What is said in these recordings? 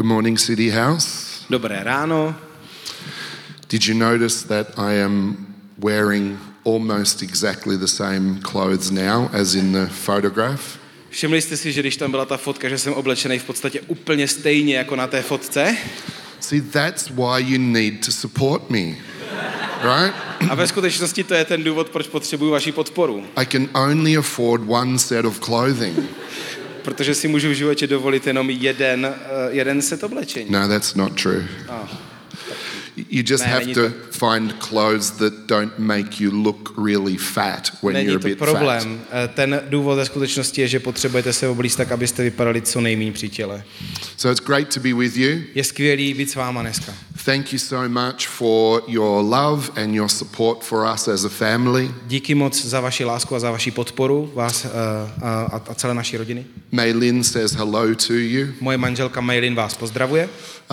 Good morning, City House. Dobré ráno. Did you notice that I am wearing almost exactly the same clothes now as in the photograph? Všimli jste si, že když tam byla ta fotka, že jsem oblečený v podstatě úplně stejně jako na té fotce? See, that's why you need to support me, right? A ve skutečnosti to je ten důvod, proč potřebuju vaši podporu. I can only afford one set of clothing. Protože si můžu v životě dovolit jenom jeden set oblečení. No, that's not true. You just have to find clothes that don't make you look really fat when you're a bit fat. Není to problém. Ten důvod ve skutečnosti je, že potřebujete se oblíct tak, abyste vypadali co nejméně při těle. So it's great to be with you. Je skvělý být s váma dneska. Thank you so much for your love and your support for us as a family. Díky moc za vaši lásku a za vaši podporu vás a celé naší rodiny. Maylin says hello to you. Moje manželka Maylin vás pozdravuje.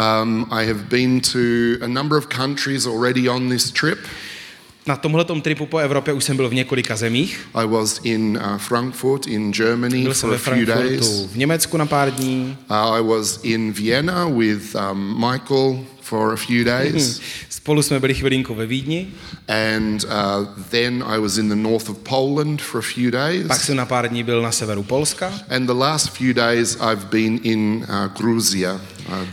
I have been to a number of countries already on this trip. Na tomhletom tripu po Evropě už jsem byl v několika zemích. I was in Frankfurt in Germany for a few days. V Německu na pár dní. I was in Vienna with Michael for a few days. Spolu jsme byli chvilinku ve Vídni. And then I was in the north of Poland for a few days. Pak jsem na pár dní byl na severu Polska. And the last few days I've been in Georgia.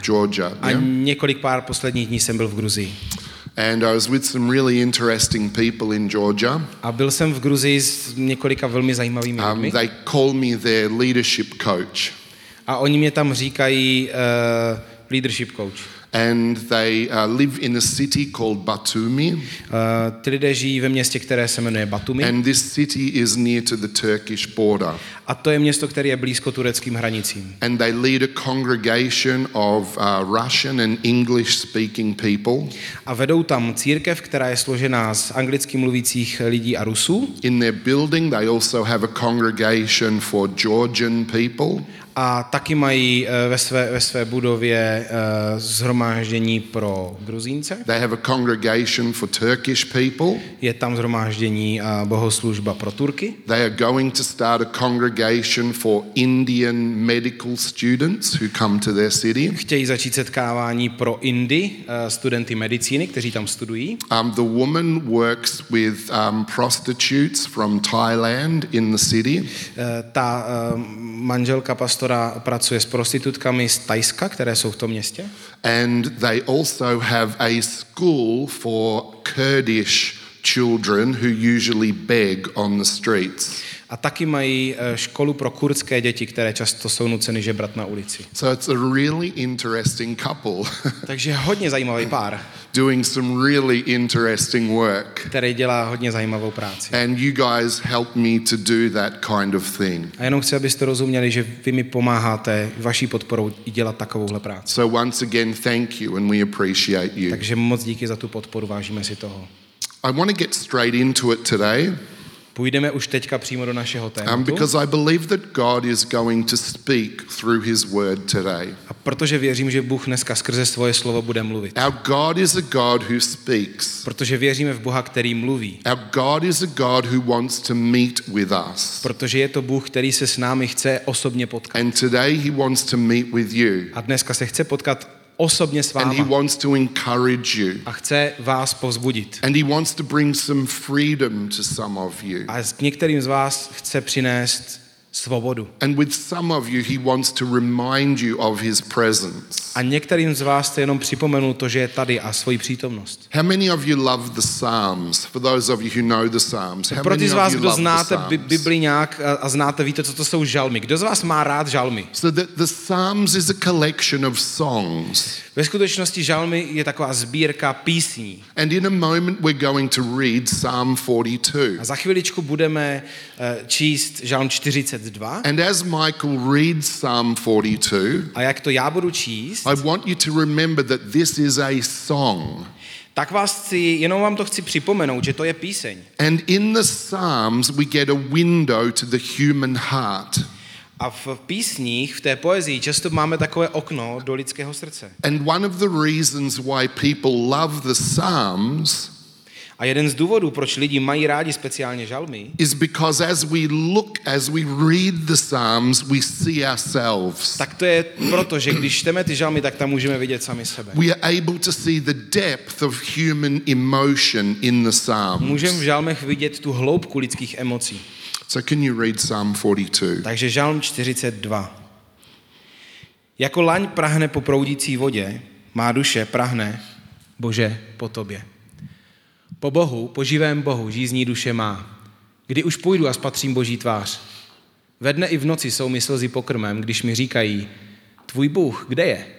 A několik pár posledních dní jsem byl v Gruzii. And I was with some really interesting people in Georgia. A byl jsem v Gruzii s několika velmi zajímavými lidmi. They call me their leadership coach. A oni mě tam říkají leadership coach. And they live in a city called Batumi. Ty lidé žijí ve městě, které se jmenuje Batumi. And this city is near to the Turkish border. A to je město, které je blízko tureckým hranicím. And they lead a congregation of Russian and English speaking people. A vedou tam církev, která je složená z anglicky mluvících lidí a Rusů. In their building they also have a congregation for Georgian people. A taky mají ve své budově shromáždění pro Gruzínce. They have a congregation for Turkish people. Je tam shromáždění a bohoslužba pro Turky. They are going to start a congregation for Indian medical students who come to their city. Chtějí začít setkávání pro Indy, studenty medicíny, kteří tam studují. The woman works with prostitutes from Thailand in the city. Ta manželka pastora pracuje s prostitutkami z Thajska, které jsou v tom městě. And they also have a school for Kurdish children who usually beg on the streets. A taky mají školu pro kurdské děti, které často jsou nuceny žebrat na ulici. So it's a really interesting couple. Takže hodně zajímavý pár. Doing some really interesting work. Který dělá hodně zajímavou práci. And you guys help me to do that kind of thing. A jenom chci, abyste rozuměli, že vy mi pomáháte vaší podporou i dělat takovouhle práci. So once again, thank you and we appreciate you. Takže moc díky za tu podporu, vážíme si toho. I want to get straight into it today. Půjdeme už teďka přímo do našeho tématu. Because I believe that God is going to speak through his word today. A protože věřím, že Bůh dneska skrze svoje slovo bude mluvit. Our God is a God who speaks. Protože věříme v Boha, který mluví. Our God is a God who wants to meet with us. Protože je to Bůh, který se s námi chce osobně potkat. And today he wants to meet with you. A dneska se chce potkat osobně s váma. And he wants to encourage you. A chce vás povzbudit. And he wants to bring some freedom to some of you. A k některým z vás chce přinést svobodu. And with some of you he wants to remind you of his presence. A některým z vás chce jenom připomenul to, že je tady a svoji přítomnost. How many of you love the Psalms? For those of you who know the Psalms. Pro ty z vás, kdo znáte Bibli nějak a znáte, víte, co to jsou žalmy. Kdo z vás má rád žalmy? So the Psalms is a collection of songs. Ve skutečnosti žalmy je taková sbírka písní. And in a moment we're going to read Psalm 42. A za chviličku budeme číst žalm 42. And as Michael reads Psalm 42, a jak to já budu číst, I want you to remember that this is a song. Tak jenom vám to chci připomenout, že to je píseň. And in the Psalms we get a window to the human heart. A v písních, v té poezii často máme takové okno do lidského srdce. And one of the reasons why people love the Psalms A jeden z důvodů, proč lidi mají rádi speciálně žalmy, is because as we read the Psalms, we see ourselves. tak to je proto, že když čteme ty žalmy, tak tam můžeme vidět sami sebe. We are able to see the depth of human emotion in the Psalms. Můžeme v žalmech vidět tu hloubku lidských emocí. So can you read Psalm 42? Takže žalm 42. Jako laň prahne po proudící vodě, má duše prahne, Bože, po tobě. Po Bohu, po živém Bohu, žízní duše má. Kdy už půjdu a spatřím Boží tvář. Ve dne i v noci jsou mi slzy pokrmem, když mi říkají, tvůj Bůh, kde je?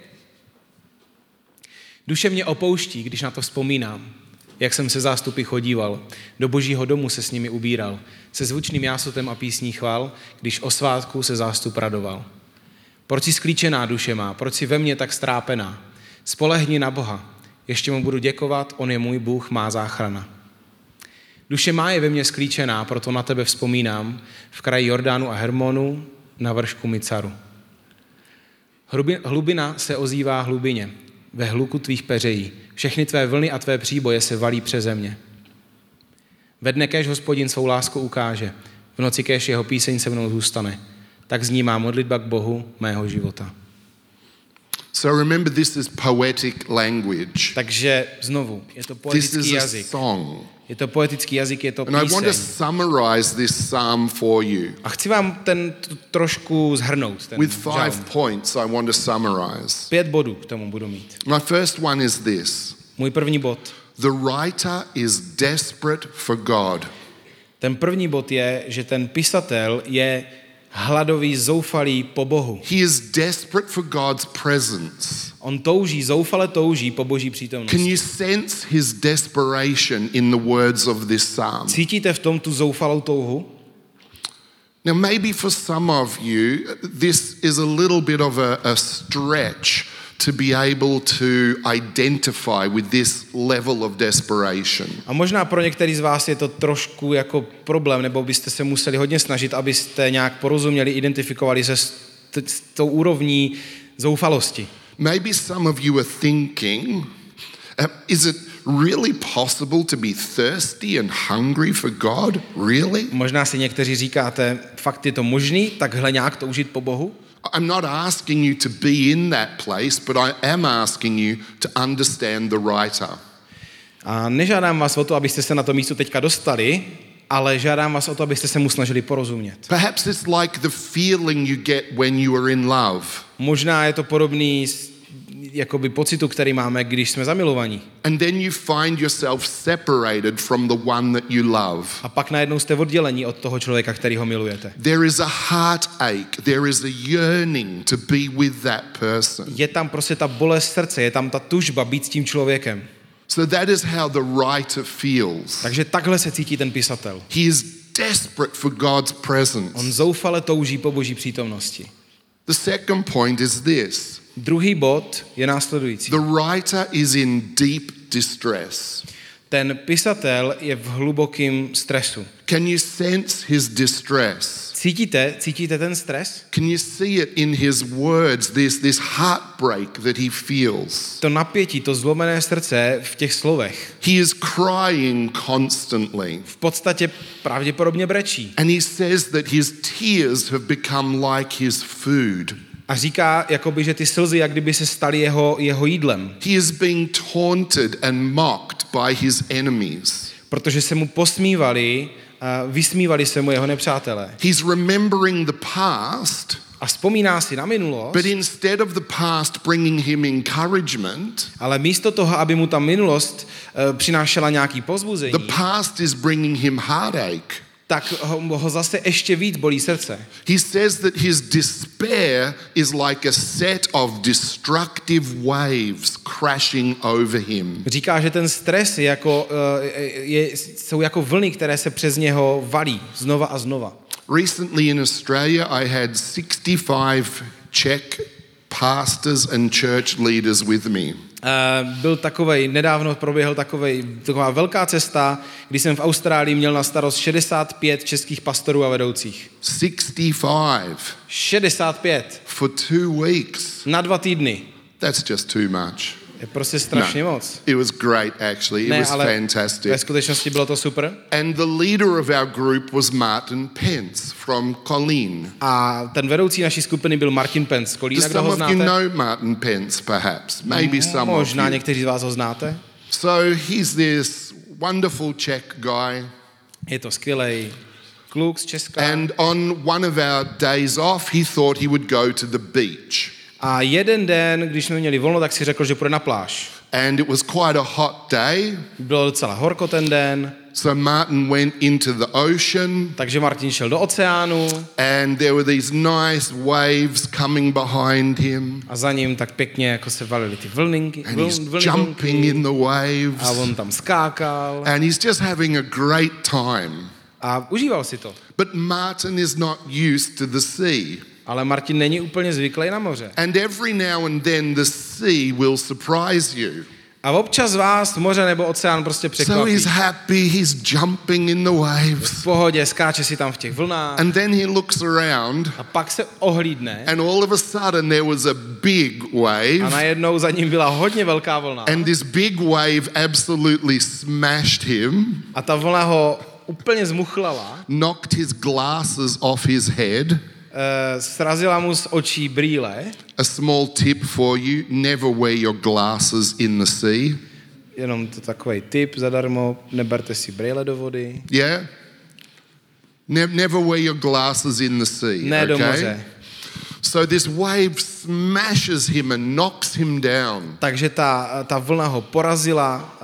Duše mě opouští, když na to vzpomínám, jak jsem se zástupy chodíval, do Božího domu se s nimi ubíral, se zvučným jásotem a písní chval, když o svátku se zástup radoval. Proč si sklíčená duše má, proč si ve mně tak strápená? Spolehni na Boha, ještě mu budu děkovat, on je můj Bůh, má záchrana. Duše má je ve mně sklíčená, proto na tebe vzpomínám, v kraji Jordánu a Hermonu, na vršku Micaru. Hlubina se ozývá hlubině, ve hluku tvých peřejí. Všechny tvé vlny a tvé příboje se valí přeze mě. Ve dne kéž Hospodin svou lásku ukáže, v noci kéž jeho píseň se mnou zůstane. Tak zní má modlitba k Bohu mého života. So remember, this is poetic language. Takže znovu, je to This poetický is a jazyk. song. Je to poetický jazyk, je to And I want to píseň. summarize this psalm for you. A chci vám trošku zhrnout. Ten With 5 žalm. points I want to summarize. 5 bodů k tomu budu mít. My first one is this. Můj první bod. The writer is desperate for God. Ten první bod je, že ten pisatel je hladový, zoufalý po Bohu. He is desperate for God's presence. On zoufale touží po Boží Can přítomnosti. you sense his desperation in the words of this psalm? Cítíte v tom tu zoufalou touhu? Now, maybe for some of you, this is a little bit of a stretch to be able to identify with this level of desperation. A možná pro některý z vás je to trošku jako problém, nebo byste se museli hodně snažit, abyste nějak porozuměli, identifikovali se s tou úrovní zoufalosti. Maybe some of you are thinking, is it really possible to be thirsty and hungry for God? Really? Možná si někteří říkáte, fakt je to možný, takhle nějak toužit po Bohu? I'm not asking you to be in that place, but I am asking you to understand the writer. A nežádám vás o to, abyste se na to místo teďka dostali, ale žádám vás o to, abyste se mu snažili porozumět. Perhaps it's like the feeling you get when you are in love. Možná je to podobný jakoby pocitu, který máme, když jsme zamilovaní. And then you find yourself separated from the one that you love. A pak najednou jste oddělení od toho člověka, kterýho milujete. There is a heartache, there is a yearning to be with that person. Je tam prostě ta bolest srdce, je tam ta tužba být s tím člověkem. So that is how the writer feels. Takže takhle se cítí ten pisatel. He is desperate for God's presence. On zoufale touží po Boží přítomnosti. The second point is this. Druhý bod je následující. The writer is in deep distress. Ten pisatel je v hlubokém stresu. Can you sense his distress? Cítíte ten stres? Can you see it in his words, this heartbreak that he feels? To napětí, to zlomené srdce v těch slovech. He is crying constantly. V podstatě pravděpodobně brečí. And he says that his tears have become like his food. A říká, jakoby, že ty slzy, jak kdyby se staly jeho jídlem. He is being taunted and mocked by his enemies. Protože se mu posmívali, vysmívali se mu jeho nepřátelé. He's remembering the past, A vzpomíná si na minulost, but instead of the past bringing him encouragement, ale místo toho, aby mu ta minulost přinášela nějaký povzbuzení, the past is bringing him heartache. tak ho zase ještě víc bolí srdce. He says that his despair is like a set of destructive waves crashing over him. Říká, že ten stres jsou jako vlny, které se přes něho valí znova a znova. Recently in Australia, I had 65 Czech pastors and church leaders with me. Nedávno proběhl taková velká cesta, kdy jsem v Austrálii měl na starost 65 českých pastorů a vedoucích. 65 65 for 2 weeks. na 2 týdny. That's just too much. Je prostě strašně moc. It was great, actually. It was fantastic. Ve skutečnosti bylo to super. And the leader of our group was Martin Pence from Colleen. A ten vedoucí naší skupiny byl Martin Pence z Kolína, kdo ho Some of you znáte? know Martin Pence, perhaps. Maybe some of Možná you. někteří z vás ho znáte. So he's this wonderful Czech guy. Je to skvělej kluk z Česka. And on one of our days off, he thought he would go to the beach. A jeden den, když jsme měli volno, tak si řekl, že půjde na pláž. And it was quite a hot day. Bylo docela horko ten den, So Martin went into the ocean, takže Martin šel do oceánu and there were these nice waves coming behind him. a za ním tak pěkně jako se valily ty vlninky, And he's jumping in the a waves. on tam skákal And he's just having a great time. a užíval si to. But Martin is not used to the sea. Ale Martin není úplně zvyklý na moře. And every now and then the sea will surprise you. A občas vás moře nebo oceán prostě So překvapí. he's happy, he's jumping in the waves. V pohodě, skáče si tam v těch vlnách And then he looks around, a pak se ohlídne and all of a sudden there was a big a wave. najednou za ním byla hodně velká vlna. And this big wave absolutely smashed him, A ta vlna ho úplně zmuchlala, knocked his glasses off his head. srazila mu z očí brýle. A small tip for you, never wear your glasses in the sea. Jenom to takový tip zadarmo, neberte si brýle do vody. Yeah? Never wear your glasses in the sea, Ne do okay? moře. So this wave smashes him and knocks him down. Takže ta vlna ho porazila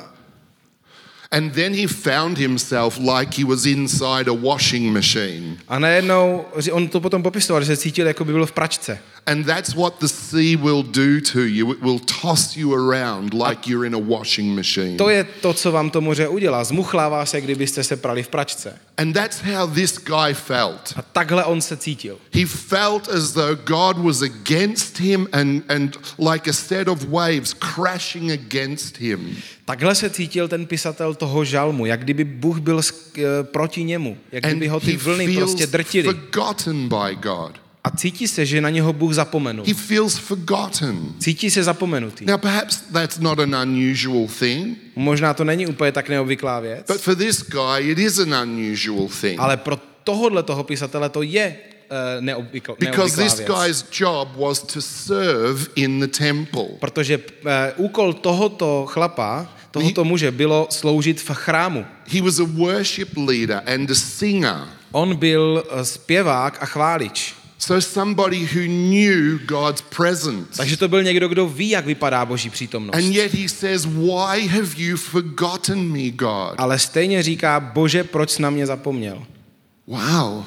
And then he found himself like he was inside a washing machine. a najednou, on to potom popisoval, že se cítil, jako by byl v pračce. And that's what the sea will do to you. It will toss you around like you're in a washing machine. To je to, co vám to moře udělá. Zmuchlává se, kdybyste se prali v pračce. And that's how this guy felt. A takhle on se cítil. He felt as though God was against him and like a set of waves crashing against him. Takhle se cítil ten pisatel toho žalmu, jak kdyby Bůh byl proti němu, jak And kdyby ho ty he vlny feels prostě drtily. forgotten by God. A cítí se, že na něho Bůh zapomenul. He feels forgotten. Cítí se zapomenutý. Now, perhaps that's not an unusual thing, Možná to není úplně tak neobvyklá věc, but for this guy, it is an unusual thing. ale pro toho pisatele to je neobvyklá Because this věc. guy's job was to serve in the temple. Protože úkol tohoto chlapa, tohoto muže bylo sloužit v chrámu. He was a worship leader and a singer. On byl zpěvák a chválič. So somebody who knew God's presence. Takže to byl někdo, kdo ví, jak vypadá Boží přítomnost. And yet he says, why have you forgotten me, God? Ale stejně říká, Bože, proč jsi na mě zapomněl? Wow.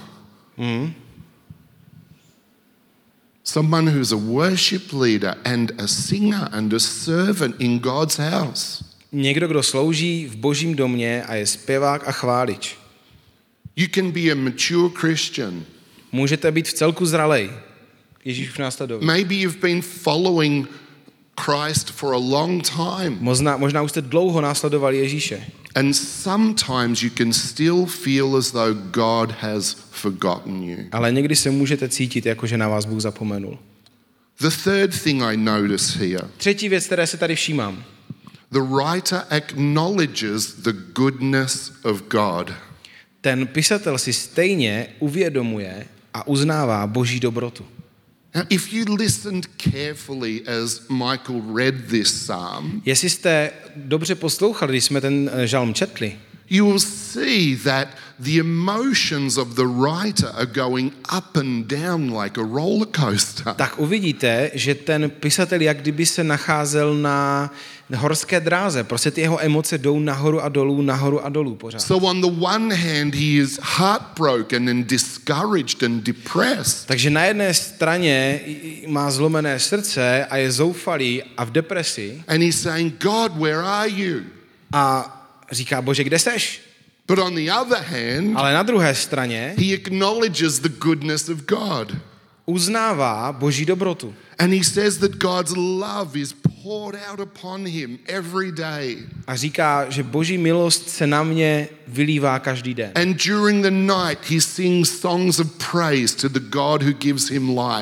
Someone who's a worship leader and a singer and a servant in God's house. Někdo, kdo slouží v Božím domě a je zpěvák a chválič. You can be a mature Christian. Můžete být v celku zralej. Ježíš už následuje. Maybe you've been following Christ for a long time. Možná už jste dlouho následovali Ježíše. And sometimes you can still feel as though God has forgotten you. Ale někdy se můžete cítit, jako že na vás Bůh zapomenul. The third thing I notice here, Třetí věc, které se tady všímám. the writer acknowledges the goodness of God. Ten pisatel si stejně uvědomuje a uznává Boží dobrotu. Now, if you listened carefully as Michael read this psalm, Jestli jste dobře poslouchali, když jsme ten žalm četli, you will see that the emotions of the writer are going up and down like a roller coaster. tak uvidíte, že ten pisatel jak kdyby se nacházel na horské dráze. Prostě ty jeho emoce jdou nahoru a dolů pořád. So on the one hand, he is heartbroken and discouraged and depressed. Takže na jedné straně má zlomené srdce a je zoufalý a v depresi And he's saying, God, where are you? a říká, Bože, kde seš? But on the other hand, Ale na druhé straně he acknowledges the goodness of God. uznává Boží dobrotu. And he says that God's love is poured out upon him every day. A říká, že Boží milost se na mě vylívá každý den. And during the night, he sings songs of praise to the God who gives him life.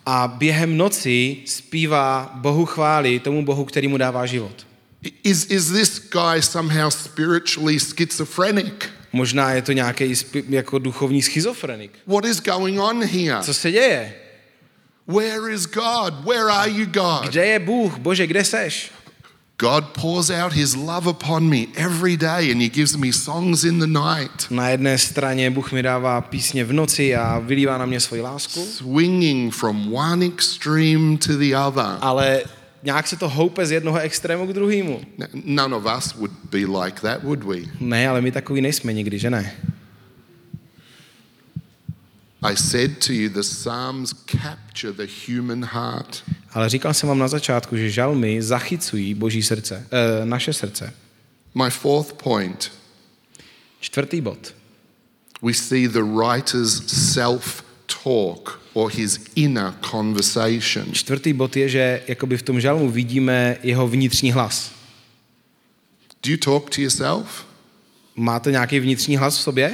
A během noci zpívá Bohu chvály, tomu Bohu, který mu dává život. Is this guy somehow spiritually schizophrenic? Možná je to nějaký jako duchovní schizofrenik. What is going on here? Co se děje? Where is God? Where are you, God? Kde je Bůh? Bože, kde seš? God pours out his love upon me every day and he gives me songs in the night. Na jedné straně Bůh mi dává písně v noci a vylívá na mě svoji lásku. Swinging from one extreme to the other. Ale nějak se to houpe z jednoho extrému k druhému. None of us would be like that, would we? Ne, ale my takový nejsme nikdy, že ne? I said to you, the Psalms capture the human heart. Ale říkal jsem vám na začátku, že žalmy zachycují Boží srdce, naše srdce. My fourth point. Čtvrtý bod. We see the writer's self-talk or his inner conversation. Čtvrtý bod je, že jakoby v tom žalmu vidíme jeho vnitřní hlas. Do you talk to yourself? Máte nějaký vnitřní hlas v sobě?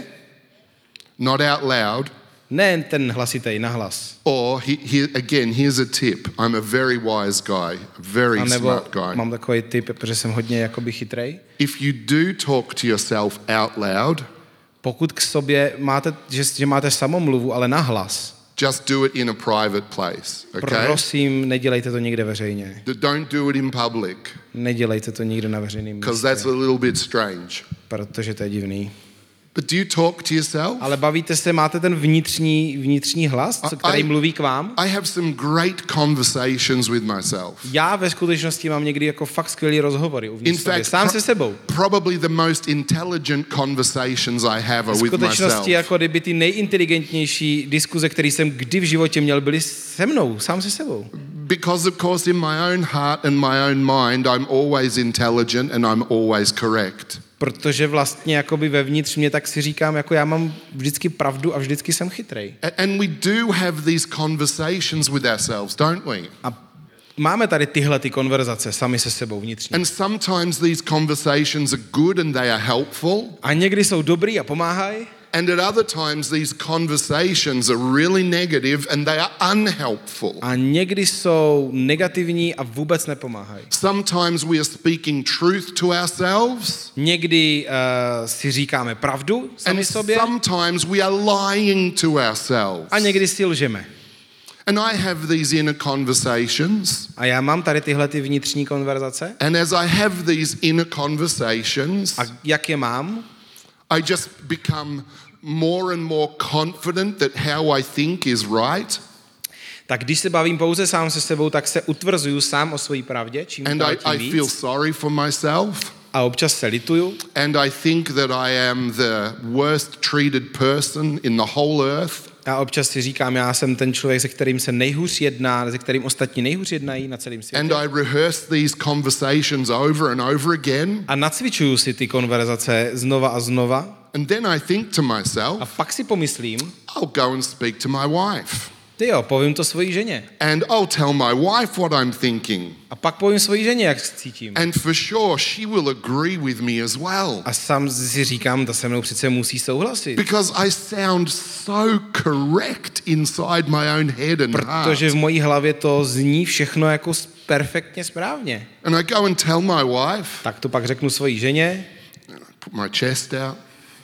Not out loud. Ne ten hlasitej nahlas. Or, again, here's a tip. I'm a very wise guy, a very smart guy. Mám takový tip, protože jsem hodně jakoby chytrej. If you do talk to yourself out loud, pokud k sobě máte, že máte samomluvu, ale nahlas, just do it in a private place, okay? Prosím, nedělejte to někde veřejně. Don't do it in public. Nedělejte to nikde na veřejném místě. Because that's a little bit strange. Protože to je divný. But do you talk to yourself? Ale bavíte se, máte ten vnitřní hlas, který mluví k vám? I have some great conversations with myself. Já ve skutečnosti mám někdy jako fakt skvělý rozhovory uvnitř sebe, sám se sebou. Probably the most intelligent conversations I have are with myself. V skutečnosti jako kdyby ty nejinteligentnější diskuze, které jsem kdy v životě měl, byly se mnou, sám se sebou. Because of course in my own heart and my own mind I'm always intelligent and I'm always correct. Protože vlastně jakoby vevnitř mě tak si říkám, jako já mám vždycky pravdu a vždycky jsem chytrej. And we do have these conversations with ourselves, don't we? A máme tady tyhle ty konverzace sami se sebou vnitřně. And sometimes these conversations are good and they are helpful. A někdy jsou dobrý a pomáhají. And at other times these conversations are really negative and they are unhelpful. A někdy jsou negativní a vůbec nepomáhají. Sometimes we are speaking truth to ourselves. Někdy si říkáme pravdu sami sobě. Sometimes we are lying to ourselves. A někdy si lžeme. And I have these inner conversations. A já mám tady tyhle ty vnitřní konverzace. And as I have these inner conversations, a jak je mám? I just become more and more confident that how I think is right. Tak když se bavím pouze sám se sebou, tak se utvrzuju sám o své pravdě, čím dál tím I feel sorry for myself. A občas se lituju. And I think that I am the worst treated person in the whole earth. A občas si říkám, já jsem ten člověk, se kterým se nejhůř jedná, se kterým ostatní nejhůř jednají na celém světě. And I rehearse these conversations over and over again. A nacvičuju si ty konverzace znova a znova. And then I think to myself, a pak si pomyslím, I'll go and speak to my wife. Ty jo, povím to svojí ženě. And I'll tell my wife what I'm thinking. A pak povím svojí ženě, jak cítím. And for sure she will agree with me as well. A sám si říkám, ta se mnou přece musí souhlasit. Because I sound so correct inside my own head and heart. Protože v mojí hlavě to zní všechno jako perfektně správně. And I go and tell my wife. Tak to pak řeknu svojí ženě. Put my chest out.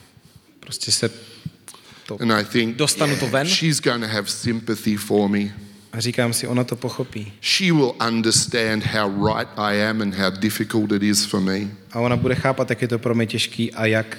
Prostě se and I think, dostanu to ven. She's going to have sympathy for me. A říkám si, ona to pochopí. She will understand how right I am and how difficult it is for me. A ona bude chápat, jak je to pro mě těžký a jak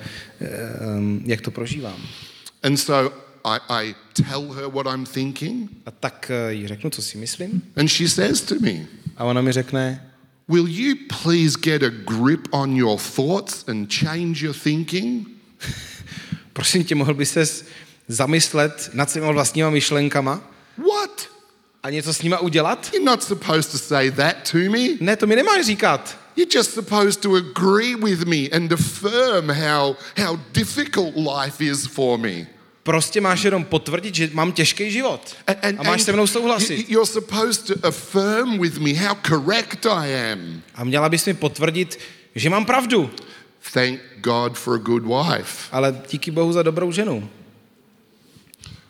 to prožívám. And so I tell her what I'm thinking. A tak jí řeknu, co si myslím. And she says to me. A ona mi řekne, will you please get a grip on your thoughts and change your thinking? Prosím tě, mohl bys ses zamyslet nad svýma vlastníma myšlenkama? What? A něco s nima udělat? You're not supposed to say that to me. Ne, to mi nemáš říkat. You're just supposed to agree with me and affirm how difficult life is for me. Prostě máš jenom potvrdit, že mám těžký život. A máš se mnou souhlasit. You're supposed to affirm with me how correct I am. A měla bys mi potvrdit, že mám pravdu. Thank God for a good wife. Ale díky Bohu za dobrou ženu.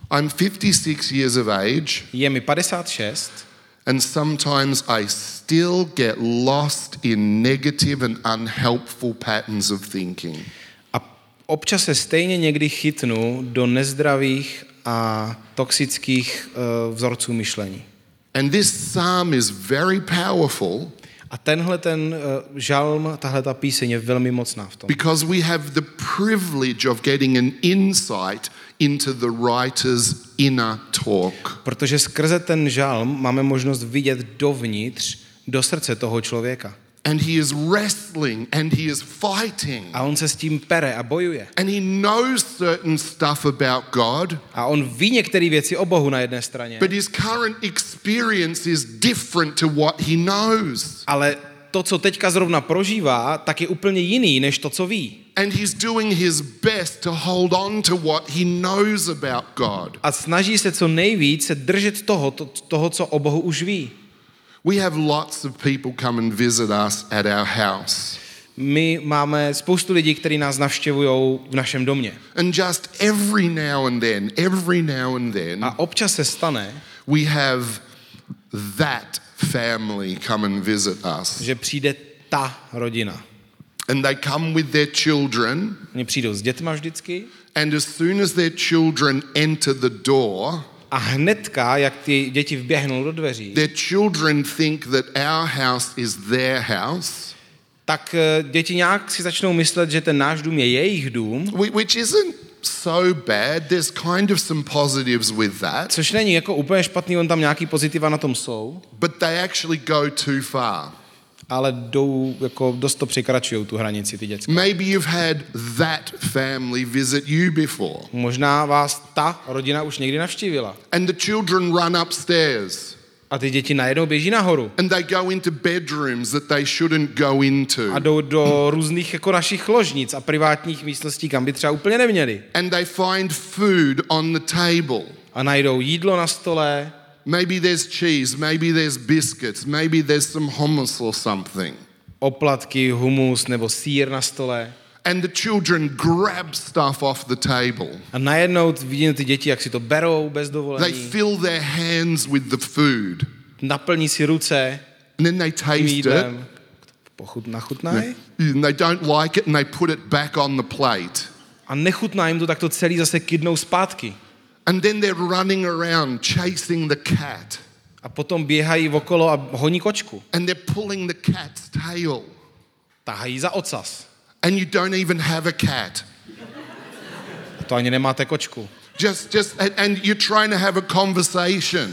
I'm 56 years of age, Je mi 56 and sometimes I still get lost in negative and unhelpful patterns of thinking. a občas se stejně někdy chytnu do nezdravých a toxických vzorců myšlení. And this psalm is very powerful A tenhle ten žalm, tahle ta píseň je velmi mocná v tom. because we have the privilege of getting an insight into the writer's inner talk. Protože skrze ten žalm máme možnost vidět dovnitř, do srdce toho člověka. And he is wrestling and he is fighting. A on se s tím pere a bojuje. And he knows certain stuff about God, A on ví některé věci o Bohu na jedné straně, but his current experience is different to what he knows. ale to, co teďka zrovna prožívá, tak je úplně jiný, než to, co ví. And he's doing his best to hold on to what he knows about God. A snaží se co nejvíc se držet toho, co o Bohu už ví. We have lots of people come and visit us at our house. My máme spoustu lidí, kteří nás navštěvují v našem domě. And just every now and then, A občas se stane, we have that family come and visit us. že přijde ta rodina. And they come with their children, Oni přijdou s dětma vždycky and as soon as their children enter the door, a hnedka, jak ty děti vběhnou do dveří, their children think that our house is their house, tak děti nějak si začnou myslet, že ten náš dům je jejich dům, which isn't so bad. There's kind of some positives with that, což není jako úplně špatný, on tam nějaký pozitiva na tom jsou, but they actually go too far. ale jdou, jako dost to překračují tu hranici ty děcka. Maybe you've had that family visit you before, Možná vás ta rodina už někdy navštívila. and the children run upstairs, A ty děti najednou běží nahoru and they go into bedrooms that they shouldn't go into, a jdou do různých jako našich ložnic a privátních místností, kam by třeba úplně neměli. and they find food on the table. A najdou jídlo na stole, Maybe there's cheese, maybe there's biscuits, maybe there's some hummus or something. oplatky, humus nebo sýr na stole. And the children grab stuff off the table. A najednou vidím ty děti, jak si to berou bez They dovolení, fill their hands with the food. naplní si ruce And then they tím taste it. jídlem. Nachutnají And they don't like it and they put it back on the plate. a nechutná jim to, tak to celý zase kydnou zpátky. And then they're running around chasing the cat. A potom běhají okolo a honí kočku. And they're pulling the cat's tail. Tahají za ocas. And you don't even have a cat. A to ani nemáte kočku. And you're trying to have a conversation.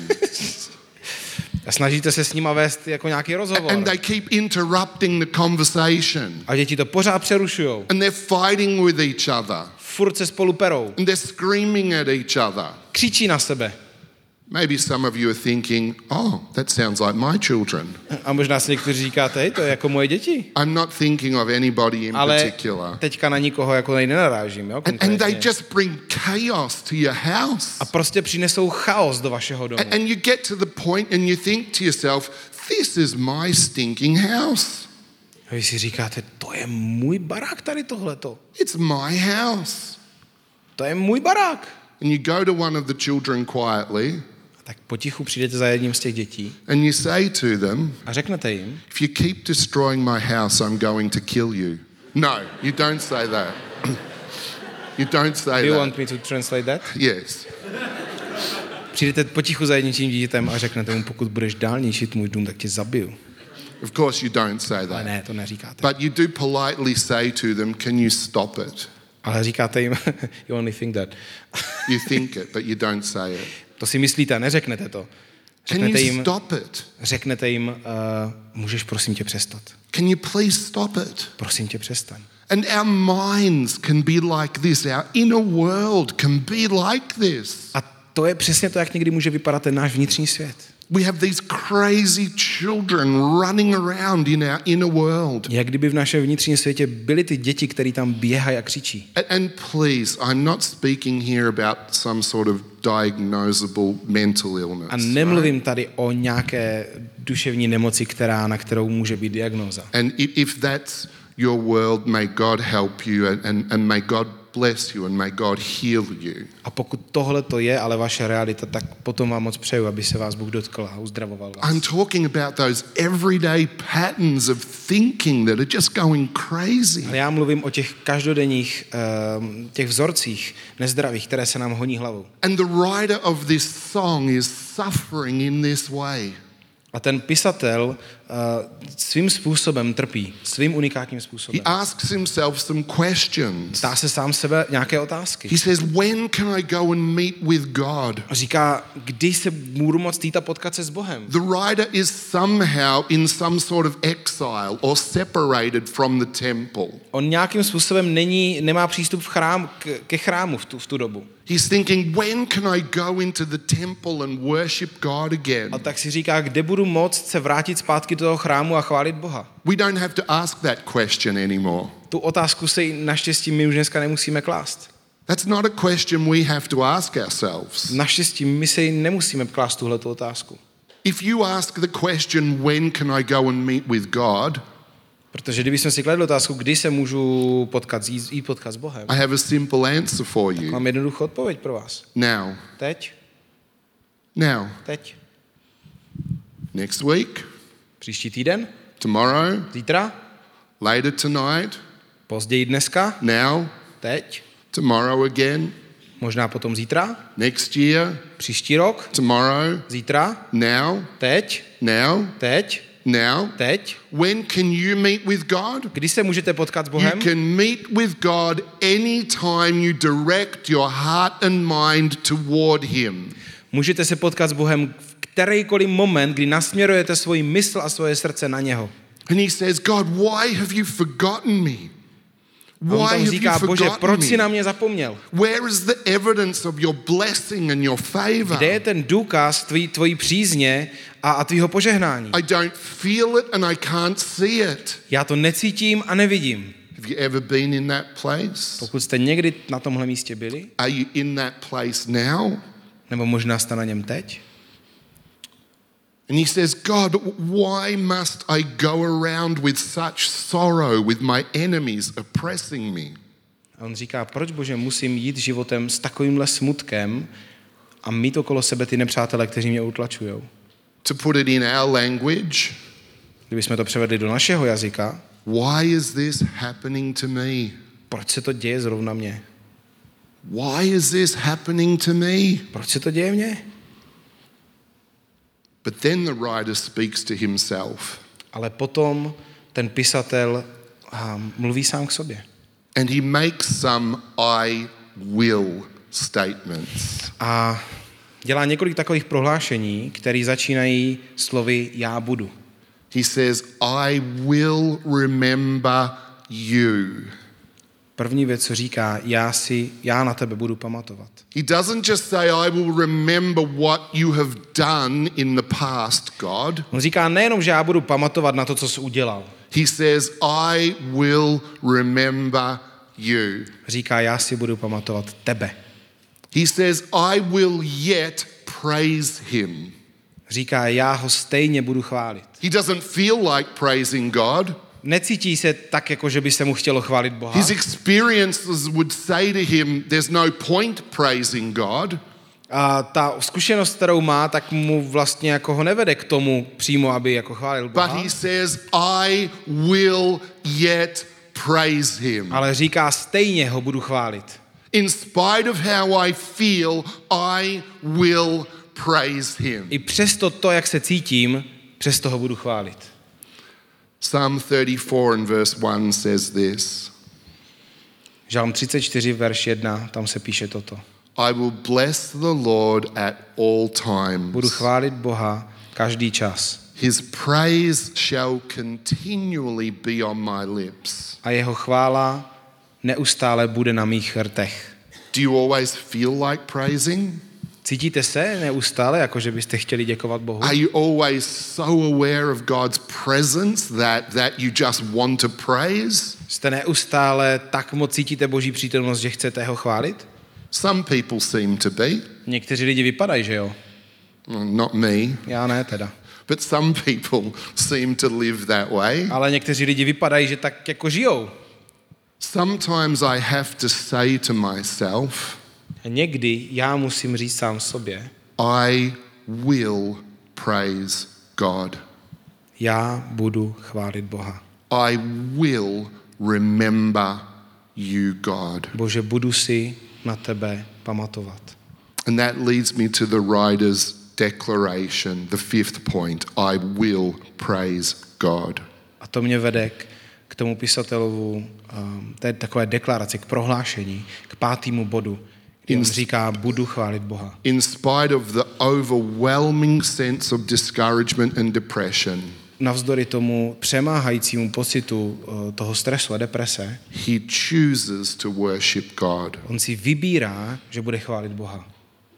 A snažíte se s nima vést jako nějaký rozhovor. And they keep interrupting the conversation. A děti to pořád přerušujou. And they're fighting with each other. Furt se spolu perou. And they're screaming at each other. Křičí na sebe. Maybe some of you are thinking, oh, that sounds like my children. A možná si někteří říkáte, hej, to je jako moje děti. I'm not thinking of anybody in Ale particular. teďka na nikoho jako nenarážím, jo, And they konkrétně. just bring chaos to your house. A prostě přinesou chaos do vašeho domu. And you get to the point and you think to yourself, this is my stinking house. A vy si říkáte, to je můj barák tady tohleto. It's my house. To je můj barák. And you go to one of the children quietly Tak potichu přijdete za jedním z těch dětí and you say to them, a řeknete jim, if you keep destroying my house, I'm going to kill you. No, you don't say that. You don't say do you that. want me to translate that? Yes. Přijdete potichu za jedním tím dítětem a řeknete mu, pokud budeš dál ničit můj dům, tak tě zabiju. Of course you don't say Ale that. ne, to neříkáte. But you do politely say to them, can you stop it? Ale říkáte jim, you only think that. You think it, but you don't say it. To si myslíte, neřeknete to. Can you stop it? Řeknete jim, můžeš prosím tě přestat. Can you please stop it? Prosím tě přestaň. And our minds can be like this. Our inner world can be like this. A to je přesně to, jak někdy může vypadat ten náš vnitřní svět. We have these crazy children running around in our inner world. Jak kdyby v našem vnitřním světě byly ty děti, které tam běhají a křičí. And please, I'm not speaking here about some sort of diagnosable mental illness. A nemluvím tady o nějaké duševní nemoci, na kterou může být diagnóza. And if that's your world, may God help you and may God bless you and may God heal you. A pokud tohle to je ale vaše realita, tak potom vám moc přeju, aby se vás Bůh dotkl a uzdravoval vás. I'm talking about those everyday patterns of thinking that are just going crazy. Ale já mluvím o těch každodenních těch vzorcích nezdravých, které se nám honí hlavou. And the writer of this song is suffering in this way. A ten pisatel svým způsobem trpí, svým unikátním způsobem. He asks himself some questions. Ptá se sám sebe nějaké otázky. He says, when can I go and meet with God? A říká, kdy se budu moct jít a potkat se s Bohem. The writer is somehow in some sort of exile or separated from the temple. On nějakým způsobem nemá přístup ke chrámu v tu dobu. He's thinking, when can I go into the temple and worship God again? A tak si říká, kde budu moct se vrátit zpátky do toho chrámu a chválit Boha. We don't have to ask that question anymore. Tu otázku si naštěstí my už dneska nemusíme klást. That's not a question we have to ask ourselves. Naštěstí my si jít klást tuhletu otázku. If you ask the question, when can I go and meet with God? Protože kdybychom si kladli otázku, kdy se můžu jít potkat s Bohem, I have a simple answer for you. mám jednoduchou odpověď pro vás. Now. Teď. Next week. Příští týden. Tomorrow. Zítra. Later tonight. Později dneska. Now. Teď. Tomorrow again. Možná potom zítra. Next year. Příští rok. Tomorrow. Zítra. Now. Teď. Now. Teď. Now. Teď. When can you meet with God? Kdy se můžete potkat s You Bohem? can meet with God anytime you direct your heart and mind toward Him. Můžete se potkat s Bohem v kterýkoliv moment, kdy nasměrujete svoji mysl a svoje srdce na něho. And He says, God, why have you forgotten me? A on Why tam have říká, you Bože, proč forgotten jsi me? na mě zapomněl? Where is the evidence of your blessing and your favor? Kde je ten důkaz tvojí přízně a tvýho požehnání? I don't feel it and I can't see it. Já to necítím a nevidím. Have you ever been in that place? Pokud jste někdy na tomhle místě byli, Are you in that place now? nebo možná jste na něm teď, And He says, God, why must I go around with such sorrow with my enemies oppressing me? a on říká, proč, Bože, musím jít životem s takovýmhle smutkem a mít okolo sebe ty nepřátele, kteří mě utlačujou. To put it in our language, Kdybychom to převedli do našeho jazyka, why is this happening to me? proč se to děje zrovna mně? Why is this happening to me? Proč se to děje mně? But then the writer speaks to himself. Ale potom ten pisatel mluví sám k sobě. And he makes some I will statements. A dělá několik takových prohlášení, které začínají slovy já budu. He says, I will remember you. První věc, co říká, já na tebe budu pamatovat. He doesn't just say, I will remember what you have done in the past, God. On říká nejenom, že já budu pamatovat na to, co jsi udělal. He says, I will remember you. Říká, já si budu pamatovat tebe. He says, I will yet praise him. Říká, já ho stejně budu chválit. He doesn't feel like praising God. Necítí se tak, jako že by se mu chtělo chválit Boha. His experiences would say to him, there's no point praising God. A ta zkušenost, kterou má, tak mu vlastně jako ho nevede k tomu přímo, aby jako chválil Boha. But he says, I will yet praise him. Ale říká, stejně ho budu chválit. In spite of how I feel, I will praise him. I přesto to, jak se cítím, přesto ho budu chválit. Psalm 34 and verse 1 says this. Žalm 34, verš 1, tam se píše toto. I will bless the Lord at all Budu times. chválit Boha každý čas. His praise shall continually be on my lips. A jeho chvála neustále bude na mých rtech. Do you always feel like praising? Cítíte se neustále, jako že byste chtěli děkovat Bohu? Are you always so aware of God's presence that you just want to praise? Jste neustále tak moc cítíte Boží přítomnost, že chcete ho chválit? Some people seem to be. Někteří lidi vypadají, že jo? Not me. Já ne teda. But some people seem to live that way. Ale někteří lidi vypadají, že tak jako žijou. Sometimes I have to say to myself, A někdy já musím říct sám sobě, I will praise God. já budu chválit Boha. I will remember you, God. Bože, budu si na tebe pamatovat. And that leads me to the writer's declaration, the fifth point. I will praise God. A to mě vede k tomu pisatelovu, té takové deklaraci, k prohlášení, k 5. bodu, kdy on říká, budu chválit Boha. In spite of the overwhelming sense of discouragement and depression, Navzdory tomu přemáhajícímu pocitu toho stresu a deprese, he chooses to worship God. on si vybírá, že bude chválit Boha.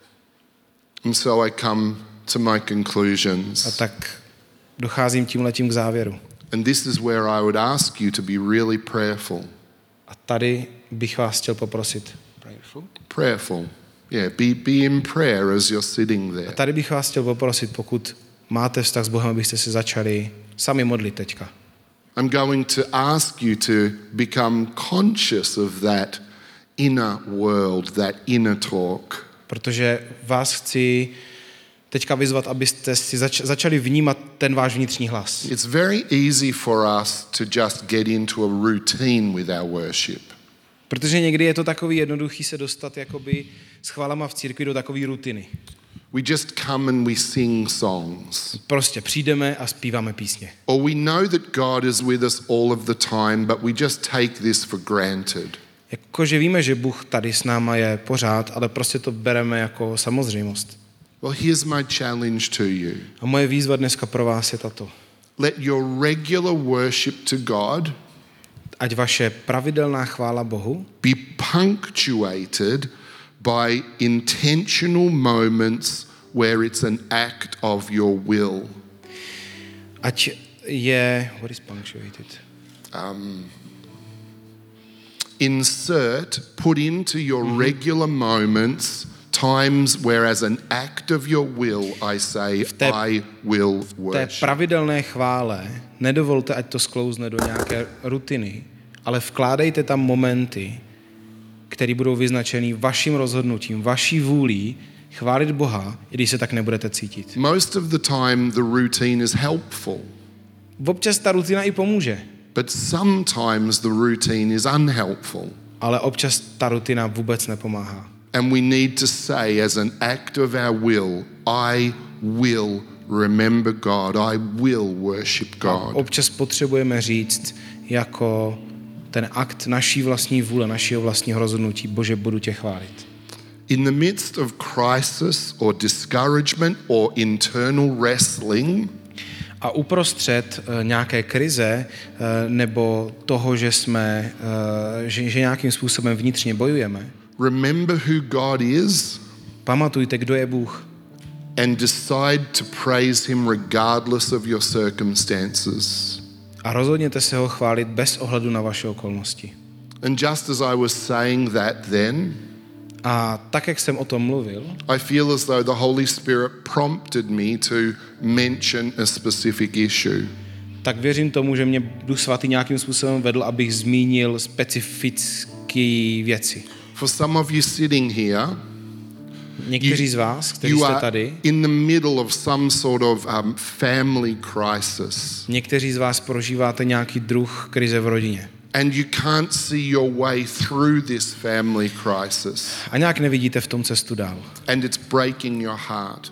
And so I come to my A conclusions. tak docházím tímhletím k závěru. And this is where I would ask you to be really prayerful. A tady bych vás chtěl poprosit. Prayerful. Yeah, be in prayer as you're sitting A there. tady bych vás chtěl poprosit, pokud máte vztah s Bohem, abyste se začali sami modlit teďka. I'm going to ask you to become conscious of that inner world, that inner talk. Protože vás chci teďka vyzvat, abyste si začali vnímat ten váš vnitřní hlas. It's very easy for us to just get into a routine with our worship. Protože někdy je to takový jednoduchý se dostat jakoby s chválama v církvi do takové rutiny. We just come and we sing songs. Prostě přijdeme a zpíváme písně. Or we know that God is with us all of the time, but we just take this for granted. Jakože víme, že Bůh tady s náma je pořád, ale prostě to bereme jako samozřejmost. Well, here's my challenge to you. A moje výzva dneska pro vás je tato. Let your regular worship to God Ať vaše pravidelná chvála Bohu be punctuated by intentional moments where it's an act of your will. ať je... What is punctuated? Put into your regular moments times where as an act of your will I say, I will Té worship. pravidelné chvále nedovolte, ať to sklouzne do nějaké rutiny, ale vkládejte tam momenty, které budou vyznačeny vaším rozhodnutím, vaší vůlí chválit Boha, i když se tak nebudete cítit. Most of the time the routine is helpful, Občas ta rutina i pomůže, but sometimes the routine is unhelpful. ale občas ta rutina vůbec nepomáhá. And we need to say as an act of our will, I will remember God, I will worship God. Občas potřebujeme říct jako ten akt naší vlastní vůle, našeho vlastního rozhodnutí, Bože, budu tě chválit. In the midst of crisis or discouragement or internal wrestling, A uprostřed nějaké krize nebo toho, že jsme, že nějakým způsobem vnitřně bojujeme, remember who God is pamatujte, kdo je Bůh and decide to praise him regardless of your circumstances. a rozhodněte se ho chválit bez ohledu na vaše okolnosti. And just as I was saying that then, A tak, jak jsem o tom mluvil, I feel as though the Holy Spirit prompted me to mention a specific issue. tak věřím tomu, že mě Duch Svatý nějakým způsobem vedl, abych zmínil specifické věci. For some of you sitting here, Někteří z vás, kteří you jste are tady, in the middle of some sort of family crisis, někteří z vás prožíváte nějaký druh krize v rodině. and you can't see your way through this family crisis, A nějak nevidíte v tom cestu dál. and it's breaking your heart,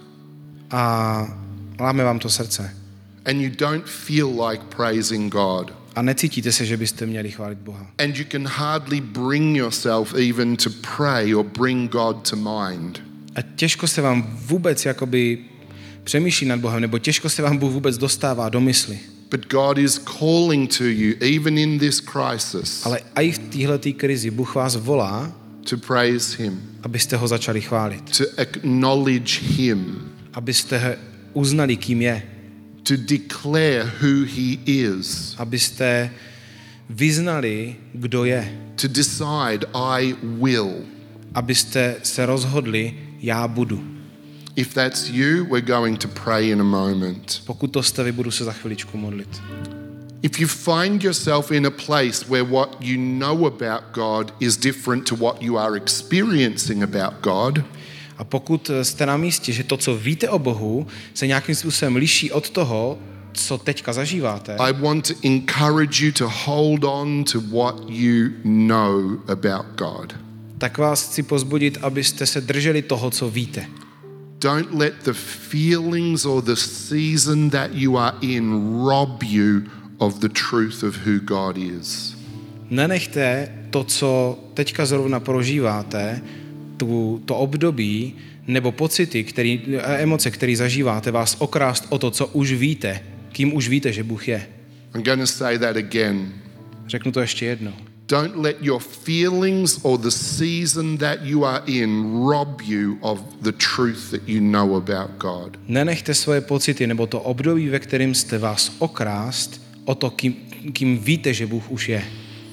A láme vám to srdce. and you don't feel like praising God, A necítíte se, že byste měli chválit Boha. and you can hardly bring yourself even to pray or bring God to mind. A těžko se vám vůbec jakoby přemýšlí nad Bohem, nebo těžko se vám Bůh vůbec dostává do mysli. But God is calling to you, even in this crisis, Ale i v téhletý krizi Bůh vás volá, to praise him, abyste ho začali chválit. to acknowledge him, Abyste uznali, kým je. to declare who he is, Abyste vyznali, kdo je. to decide I will. Abyste se rozhodli, já budu. If that's you, we're going to pray in a moment. Pokud to jste vy, budu se za chviličku modlit. If you find yourself in a place where what you know about God is different to what you are experiencing about God, A pokud jste na místě, že to, co víte o Bohu, se nějakým způsobem liší od toho, co teďka zažíváte, I want to encourage you to hold on to what you know about God. tak vás chci pozbudit, abyste se drželi toho, co víte. Don't let the feelings or the season that you are in rob you of the truth of who God is. Nenechte to, co teďka zrovna prožíváte, to období nebo pocity, emoce, které zažíváte, vás okrást o to, co už víte, kým už víte, že Bůh je. I'm going to say that again. Řeknu to ještě jednou. Don't let your feelings or the season that you are in rob you of the truth that you know about God. Nenechte svoje pocity nebo to období, ve kterém jste, vás okrást o to, kým víte, že Bůh už je.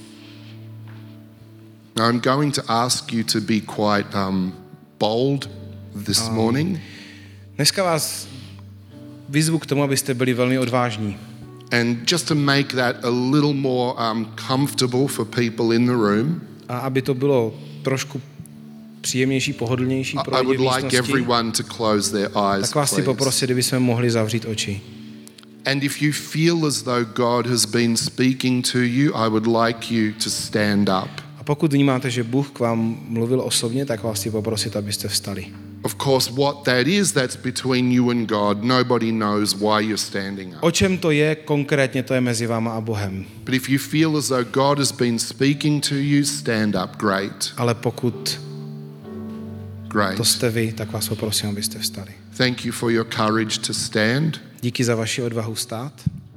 Now I'm going to ask you to be quite bold this morning. Dneska vás vyzvu k tomu, abyste byli velmi odvážní. And just to make that a little more comfortable for people in the room, A aby to bylo trošku příjemnější, pohodlnější pro I lidi would v like místnosti, everyone to close their eyes, tak vás chci please. poprosit, kdybychom mohli zavřít oči. And if you feel as though God has been speaking to you, I would like you to stand up. A pokud vnímáte, že Bůh k vám mluvil osobně, tak vás chci poprosit, abyste vstali. Of course, what that is, that's between you and God. Nobody knows why you're standing up. O čem to je konkrétně, to je mezi váma a Bohem. But if you feel as though God has been speaking to you, stand up. Great. Ale pokud Great. to jste vy, tak vás poprosím, abyste vstali. Thank you for your courage to stand. Díky za vaši odvahu stát.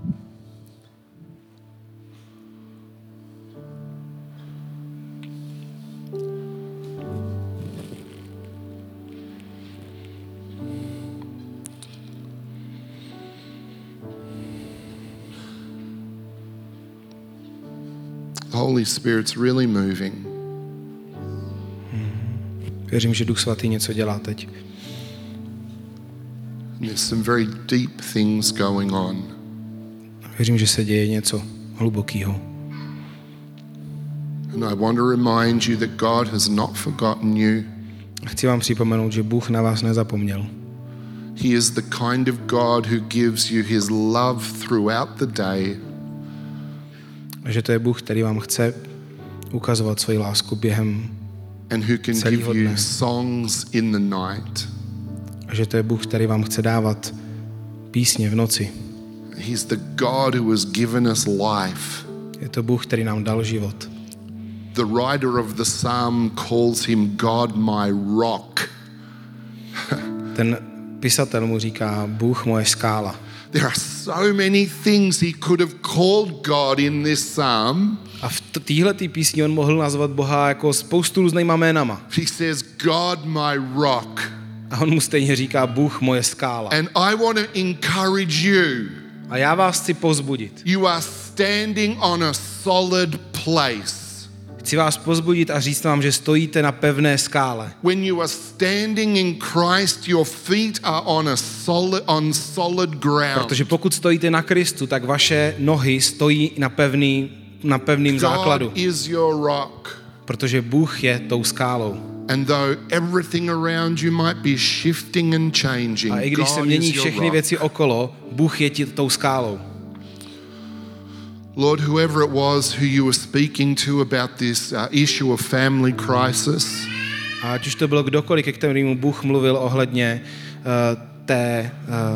The Holy Spirit's really moving. Věřím, že Duch Svatý něco dělá teď. There's some very deep things going on. Věřím, že se děje něco hlubokého. And I want to remind you that God has not forgotten you. A chci vám připomenout, že Bůh na vás nezapomněl. He is the kind of God who gives you his love throughout the day. A že to je Bůh, který vám chce ukazovat svoji lásku během And who can celého give you dne. songs in the night. A že to je Bůh, který vám chce dávat písně v noci. He's the God who has given us life. Je to Bůh, který nám dal život. The writer of the psalm calls him God my rock. Ten pisatel mu říká Bůh moje skála. There are so many things he could have called God in this psalm. A v téhletý písni on mohl nazvat Boha jako spoustu různýma jménama. He says, God my rock. A on mu stejně říká Bůh moje skála. And I want to encourage you. A já vás chci povzbudit. You are standing on a solid place. Chci vás povzbudit a říct vám, že stojíte na pevné skále. When you are standing in Christ, your feet are on solid ground. Protože pokud stojíte na Kristu, tak vaše nohy stojí na pevným základu. God is your rock. Protože Bůh je tou skálou. And though everything around you might be shifting and changing, A i když se God mění is your všechny rock. věci okolo, Bůh je tou skálou. Lord, whoever it was who you were speaking to about this issue of family crisis, A ať už to bylo kdokoliv, ke kterému Bůh mluvil ohledně té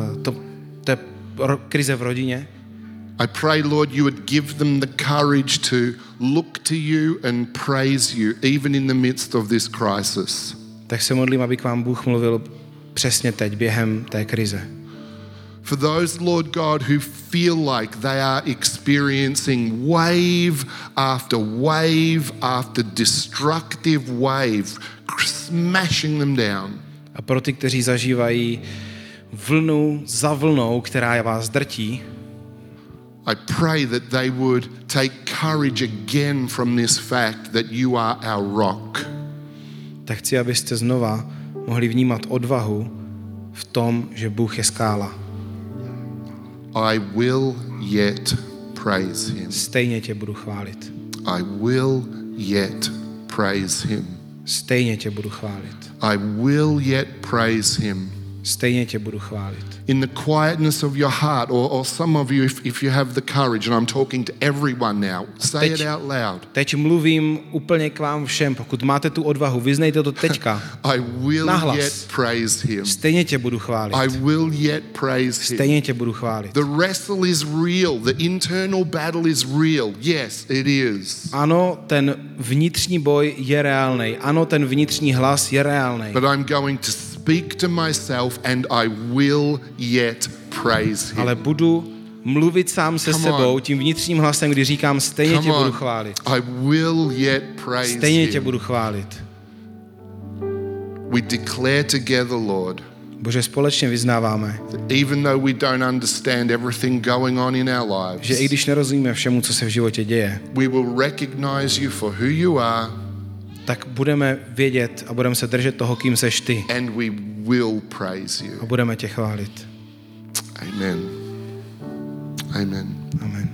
krize v rodině, I pray, Lord, you would give them the courage to look to you and praise you, even in the midst of this crisis. tak se modlím, aby k vám Bůh mluvil přesně teď, během té krize. For those, Lord God, who feel like they are experiencing wave after destructive wave, smashing them down. A pro ty, kteří zažívají vlnu za vlnou, která vás drtí, I pray that they would take courage again from this fact that you are our rock. tak chci, abyste znova mohli vnímat odvahu v tom, že Bůh je skála. I will yet praise him. Stejně tě budu chválit. I will yet praise him. Stejně tě budu chválit. I will yet praise him. Stejně tě budu chválit. In the quietness of your heart, or some of you, if you have the courage, and I'm talking to everyone now, say it out loud. Teď mluvím úplně k vám všem. Pokud máte tu odvahu, vyznejte to teďka. I will Nahlas. yet praise him. Stejně tě budu chválit. I will yet praise him. Stejně tě budu chválit. The wrestle is real. The internal battle is real. Yes, it is. Ano, ten vnitřní boj je reálnej. Ano, ten vnitřní hlas je reálnej. But I'm going to speak to myself and I will yet praise him. Ale budu mluvit sám se Come sebou on. tím vnitřním hlasem, kdy říkám, stejně Come tě budu on. chválit. I will yet praise Stejně tě him. budu chválit. We declare together, Lord, Bože, společně vyznáváme, even though we don't understand everything going on in our že i lives, když nerozumíme všemu, co se v životě děje, we will recognize you for who you are tak budeme vědět a budeme se držet toho, kým seš ty. and we will praise A you. budeme tě chválit. Amen. Amen. Amen.